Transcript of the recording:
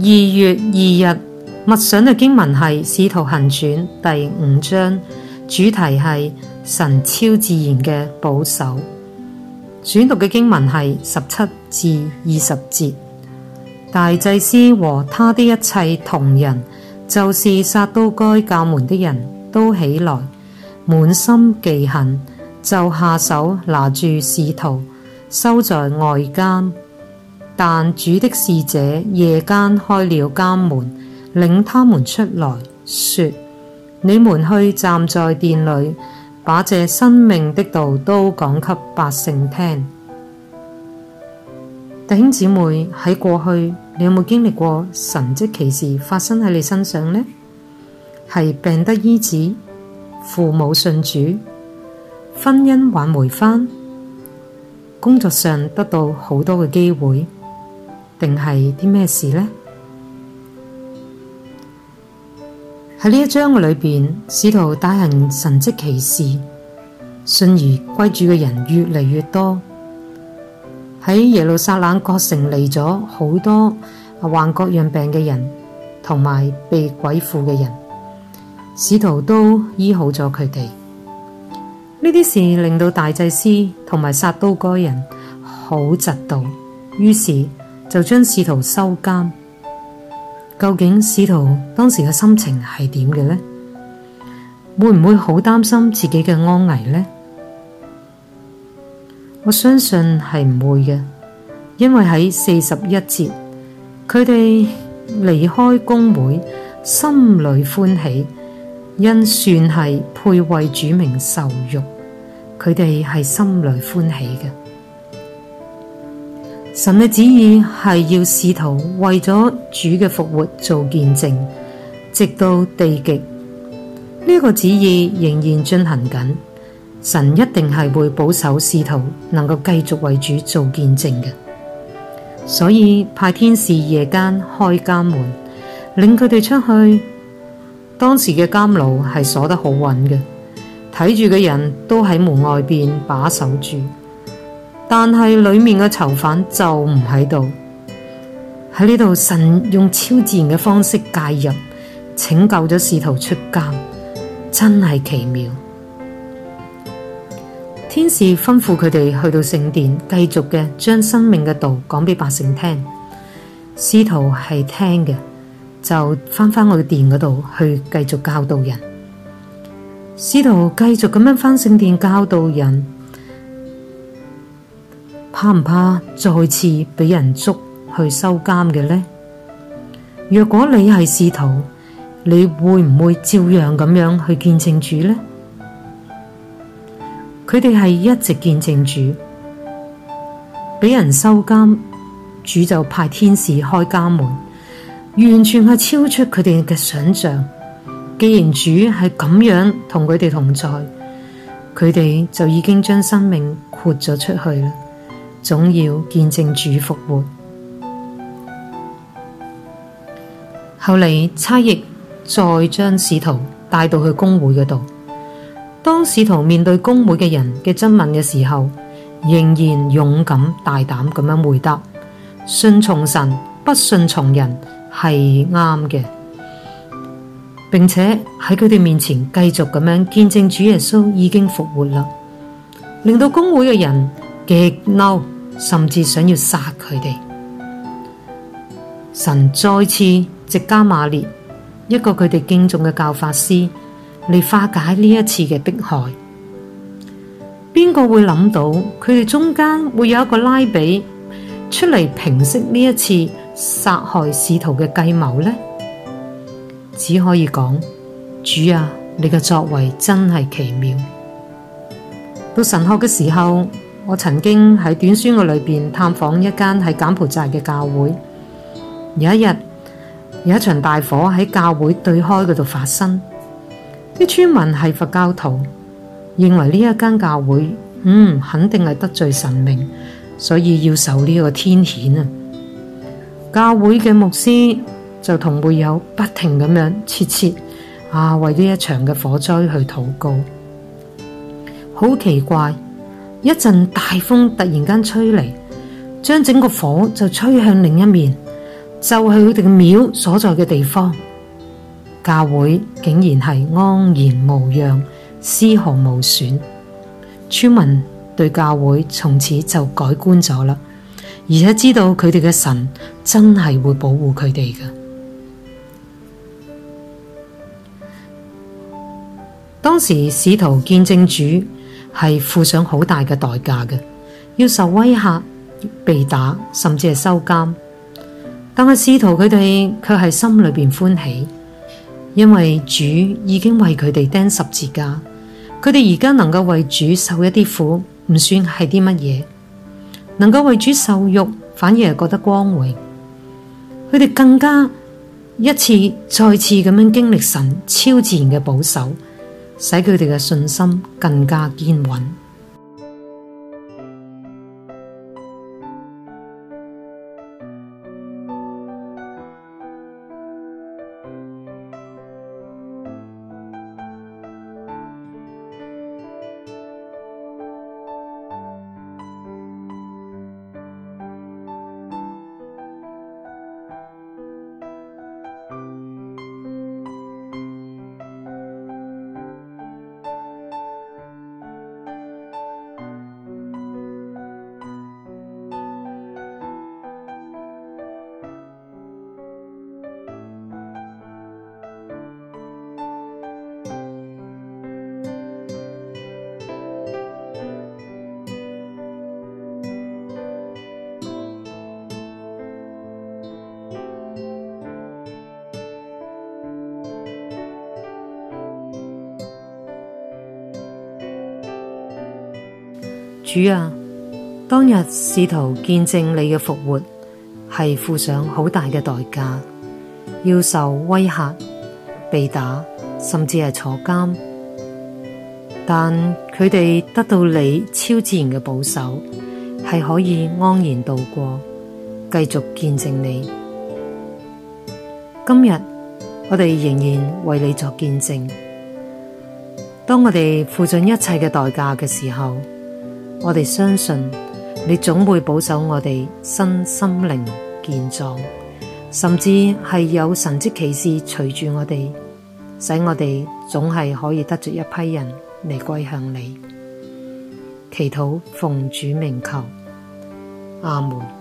2月2日默想嘅經文係《使徒行傳》第5章，主題係神超自然嘅保守。選讀嘅經文係17至20節。大祭司和他的一切同人，就是撒都該教門的人都起來，滿心忌恨，就下手拿住使徒，收在外監。但主的使者夜間開了監門，領他們出來，說：你們去站在殿裏，把這生命的道都講給百姓聽。弟兄姊妹，喺過去你有冇經歷過神蹟奇事發生喺你身上呢？係病得醫治，父母信主，婚姻挽回返，工作上得到好多嘅機會，定係啲咩事呢？喺呢一章嘅裏邊，使徒大行神蹟奇事，信而歸主嘅人越嚟越多。喺耶路撒冷各城嚟咗好多患各樣病嘅人，同埋被鬼附嘅人，使徒都醫好咗佢哋。呢啲事令到大祭司同埋撒都該人好嫉妒，於是就將使徒收監。究竟使徒當時嘅心情係點嘅呢？會唔會好擔心自己嘅安危呢？我相信係唔會嘅，因為喺41節，佢哋離開公會，心裏歡喜，因算係配為主名受辱，佢哋係心裏歡喜嘅。神嘅旨意係要使徒為咗主嘅復活做見證，直到地極。呢個旨意仍然進行緊。神一定係會保守使徒能夠繼續為主做見證嘅，所以派天使夜間開監門，領佢哋出去。當時嘅監牢係鎖得好穩嘅，睇住嘅人都喺門外邊把守住，但係裏面嘅囚犯就唔喺度。喺呢度，神用超自然嘅方式介入，拯救咗使徒出監，真係奇妙。天使吩咐佢哋去到聖殿，繼續嘅將生命嘅道講俾百姓聽。使徒係聽嘅，就返去殿嗰度去繼續教導人。使徒繼續咁樣返聖殿教導人，怕唔怕再次俾人捉去收監嘅呢？若果你係使徒，你會唔會照樣咁樣去見證主呢？佢哋係一直見證主，俾人收監，主就派天使開監門，完全係超出佢哋嘅想象。既然主係咁樣同佢哋同在，佢哋就已經將生命豁咗出去啦，總要見證主復活。後嚟差役再將使徒帶到去公會嗰度。當使徒面對公會嘅人嘅質問嘅時候，仍然勇敢大膽咁樣回答：信從神，不信從人係啱嘅。並且喺佢哋面前繼續咁樣見證主耶穌已經復活啦，令到公會嘅人極嬲，甚至想要殺佢哋。神再次藉加瑪列，一個佢哋敬重嘅教法師，嚟化解呢一次嘅迫害。邊個會諗到佢哋中間會有一個拉比出嚟平息呢一次殺害使徒嘅計謀呢？只可以講，主啊，你嘅作為真係奇妙。到神學嘅時候，我曾經喺短宣嘅裏邊探訪一間喺柬埔寨嘅教會。有一日，有一場大火喺教會對開嗰度發生。啲村民係佛教徒，認為呢一間教會肯定係得罪神明，所以要受呢個天譴啊。教會嘅牧師就同會友不停咁樣切切為呢一場嘅火災去禱告。好奇怪，一陣大風突然間吹嚟，將整個火就吹向另一面， 就係佢哋嘅廟所在嘅地方，教會竟然係安然無恙，絲毫無損。村民對教會從此就改觀咗啦，而且知道佢哋嘅神真係會保護佢哋嘅。當時使徒見證主係付上好大嘅代價嘅，要受威嚇、被打，甚至係收監。但係使徒佢哋卻係心裏邊歡喜，因為主已經為佢哋釘十字架，佢哋而家能夠為主受一啲苦，唔算係啲乜嘢；能夠為主受辱，反而係覺得光榮。佢哋更加一次再次咁樣經歷神超自然嘅保守，使佢哋嘅信心更加堅穩。主啊，當日使徒見證你嘅復活，係付上好大嘅代價，要受威嚇、被打，甚至係坐監。但佢哋得到你超自然嘅保守，係可以安然度過，繼續見證你。今日我哋仍然為你作見證。當我哋付盡一切嘅代價嘅時候，我哋相信你總會保守我哋身心靈健壯，甚至係有神蹟奇事隨住我哋，使我哋總係可以得着一批人嚟歸向你。祈禱奉主名求，阿門。